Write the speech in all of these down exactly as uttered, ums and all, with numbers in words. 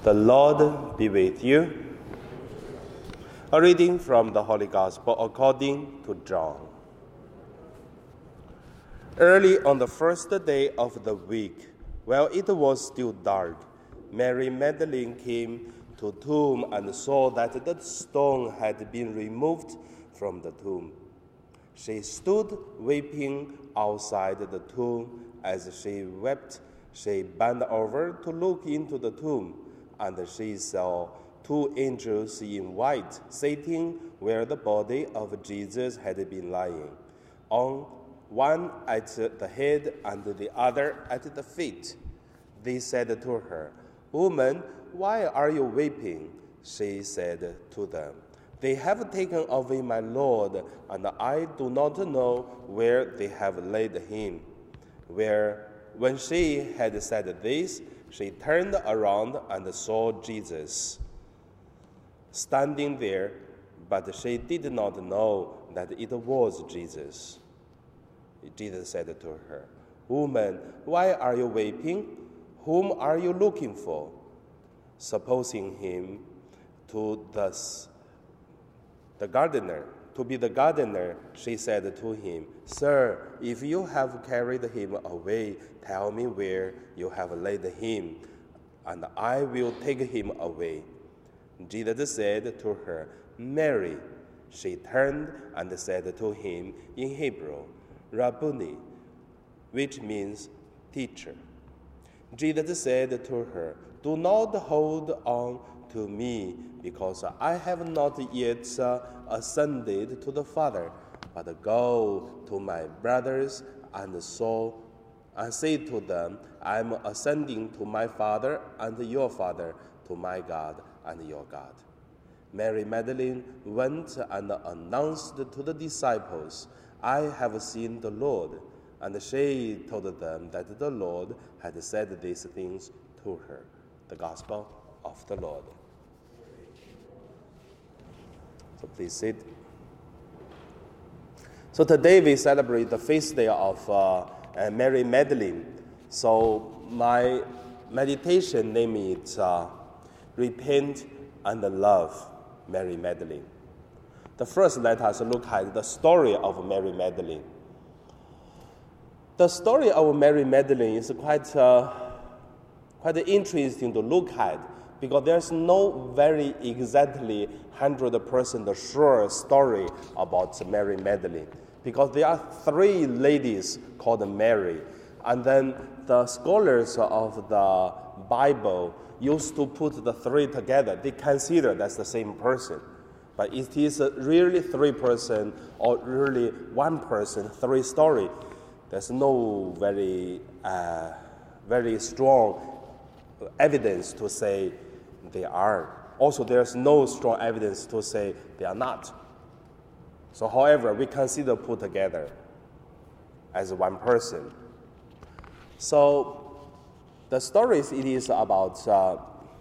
The Lord be with you. A reading from the Holy Gospel according to John. Early on the first day of the week, while it was still dark, Mary Magdalene came to the tomb and saw that the stone had been removed from the tomb. She stood weeping outside the tomb. As she wept, she bent over to look into the tomb, and she saw two angels in white sitting where the body of Jesus had been lying, on one at the head and the other at the feet. They said to her, "Woman, why are you weeping?" She said to them, "They have taken away my Lord, and I do not know where they have laid him." Where, when she had said this, she turned around and saw Jesus standing there, but she did not know that it was Jesus. Jesus said to her, "Woman, why are you weeping? Whom are you looking for?" Supposing him to thus the gardener, to be the gardener, she said to him, "Sir, if you have carried him away, tell me where you have laid him, and I will take him away." Jesus said to her, "Mary." She turned and said to him in Hebrew, "Rabboni," which means teacher. Jesus said to her, "Do not hold on to me, because I have not yet uh, ascended to the Father, but go to my brothers and so and say to them, I am ascending to my Father and your Father, to my God and your God." Mary Magdalene went and announced to the disciples, "I have seen the Lord," and she told them that the Lord had said these things to her. The Gospel of the Lord. So please sit. So today we celebrate the feast day of uh, uh, Mary Magdalene. So my meditation name is uh, Repent and Love Mary Magdalene. The first, let us look at the story of Mary Magdalene. The story of Mary Magdalene is quite, uh, quite interesting to look at, because there's no very exactly one hundred percent sure story about Mary Magdalene, because there are three ladies called Mary, and then the scholars of the Bible used to put the three together. They consider that's the same person, but it is really three person or really one person, three story. There's no very, uh, very strong evidence to say they are. Also, there's no strong evidence to say they are not. So, however, we consider put together as one person. So, the stories it is about, uh,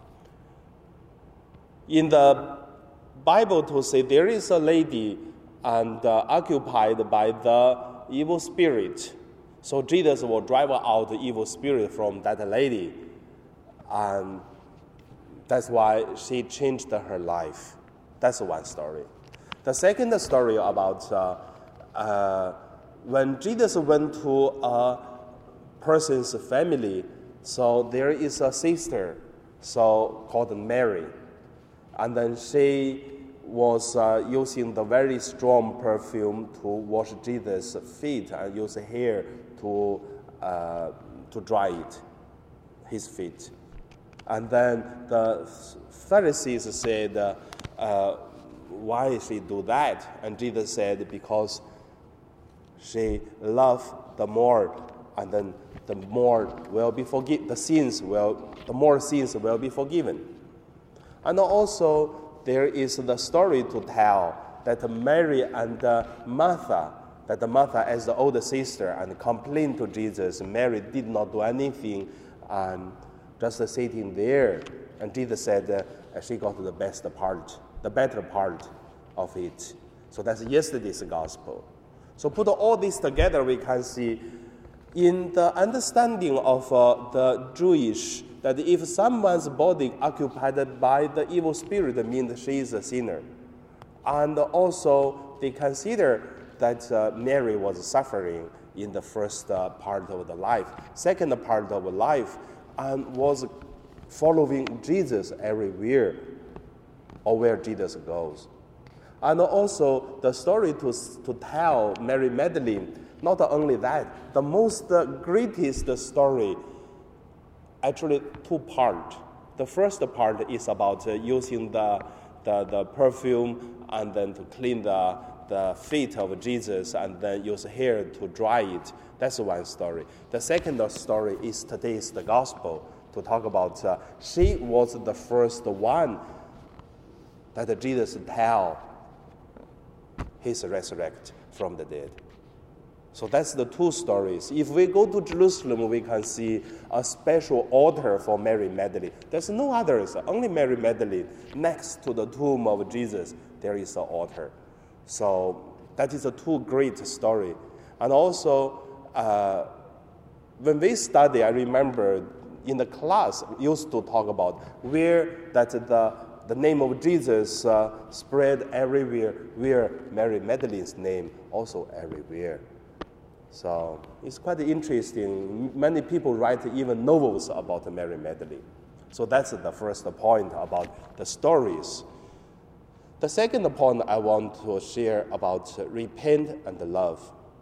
in the Bible to say there is a lady and uh, occupied by the evil spirit. So Jesus will drive out the evil spirit from that lady. And that's why she changed her life. That's one story. The second story about uh, uh, when Jesus went to a person's family, so there is a sister so called Mary. And then she was uh, using the very strong perfume to wash Jesus' feet and use hair to, uh, to dry it, his feet. And then the Pharisees said, uh, uh, why she do that? And Jesus said, because she loved the more, and then the more will be forgiven, the sins will, the more sins will be forgiven. And also, there is the story to tell that Mary and uh, Martha, that Martha as the older sister and complained to Jesus. Mary did not do anything, and just sitting there. And Jesus said uh, she got the best part, the better part of it. So that's yesterday's gospel. So put all this together, we can see in the understanding of uh, the Jewish that if someone's body occupied by the evil spirit, it means she is a sinner. And also, they consider that uh, Mary was suffering in the first uh, part of the life. Second part of life, and was following Jesus everywhere, or where Jesus goes. And also, the story to, to tell Mary Magdalene, not only that, the most uh, greatest story, actually two parts. The first part is about uh, using the, the, the perfume and then to clean the, the feet of Jesus and then use hair to dry it. That's one story. The second story is today's the gospel, to talk about uh, she was the first one that Jesus tell his resurrect from the dead. So that's the two stories. If we go to Jerusalem, we can see a special altar for Mary Magdalene. There's no others, only Mary Magdalene. Next to the tomb of Jesus, there is an altar. So that is a two great story. And also, uh, when we study, I remember in the class used to talk about where that the the name of Jesus uh, spread everywhere, where Mary Magdalene's name also everywhere. So it's quite interesting. Many people write even novels about Mary Magdalene. So that's the first point about the stories. The second point I want to share about repent and love.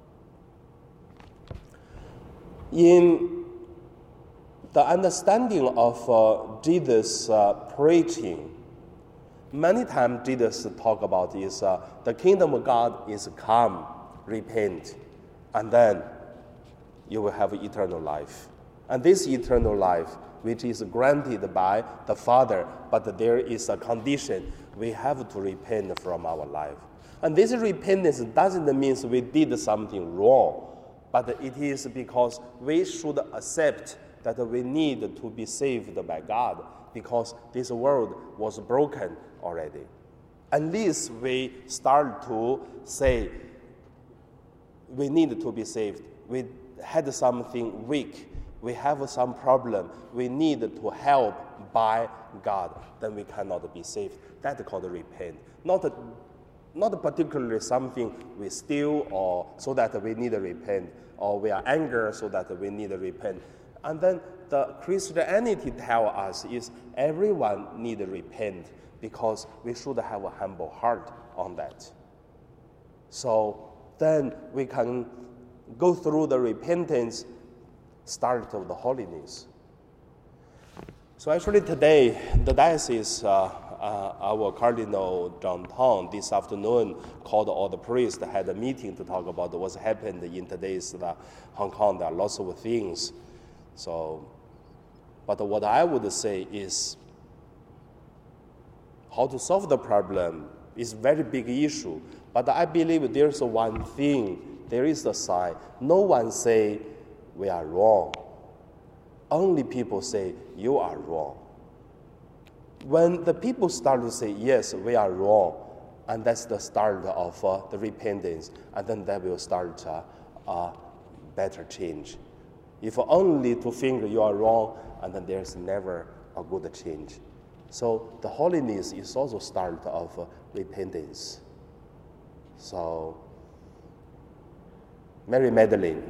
In the understanding of uh, Jesus' uh, preaching, many times Jesus talk about is uh, the kingdom of God is come, repent, and then you will have eternal life. And this eternal life, which is granted by the Father, but there is a condition. We have to repent from our life. And this repentance doesn't mean we did something wrong, but it is because we should accept that we need to be saved by God, because this world was broken already. Unless we start to say we need to be saved, we had something weak, we have some problem, we need to help by God, then we cannot be saved. That's called repent. Not, a, not particularly something we steal or so that we need to repent, or we are angry so that we need to repent. And then the Christianity tell us is everyone need to repent, because we should have a humble heart on that. So then we can go through the repentance, start of the holiness. So actually today, the diocese, uh, uh, our Cardinal John Tong this afternoon called all the priests, had a meeting to talk about what happened in today's uh, Hong Kong. There are lots of things. So, but what I would say is how to solve the problem is a very big issue. But I believe there's one thing, there is a sign. No one say we are wrong. Only people say you are wrong. When the people start to say yes, we are wrong, and that's the start of uh, the repentance, and then that will start uh, a better change. If only to think you are wrong, and then there's never a good change. So the holiness is also start of uh, repentance. So Mary Magdalene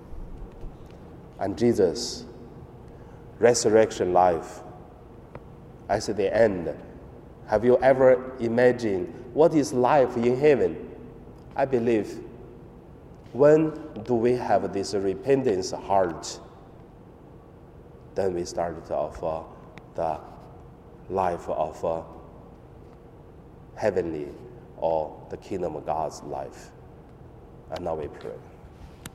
and Jesus' resurrection life as the end. Have you ever imagined what is life in heaven? I believe when do we have this repentance heart, then we start off uh, the life of uh, heavenly or the kingdom of God's life. And now we pray.